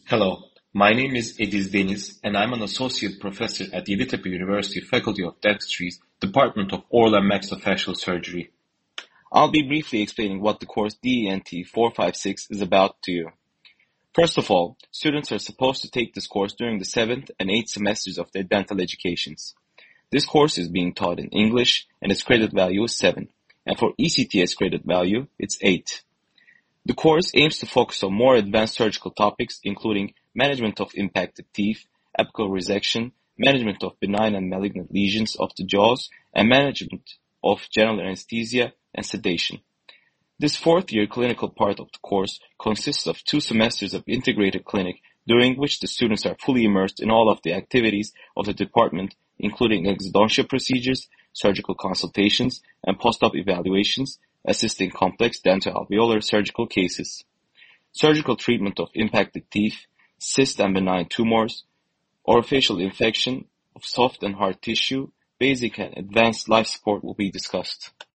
Hello, my name is Ediz Deniz, and I'm an associate professor at Yeditepe University Faculty of Dentistry's Department of Oral and Maxillofacial Surgery. I'll be briefly explaining what the course DENT 456 is about to you. First of all, students are supposed to take this course during the 7th and 8th semesters of their dental educations. This course is being taught in English, and its credit value is 7, and for ECTS credit value, it's 8. The course aims to focus on more advanced surgical topics, including management of impacted teeth, apical resection, management of benign and malignant lesions of the jaws, and management of general anesthesia and sedation. This fourth-year clinical part of the course consists of 2 semesters of integrated clinic, during which the students are fully immersed in all of the activities of the department, including exodontia procedures, surgical consultations, and post-op evaluations, assisting complex dentoalveolar surgical cases, surgical treatment of impacted teeth, cyst and benign tumors, orofacial infection of soft and hard tissue, basic and advanced life support will be discussed.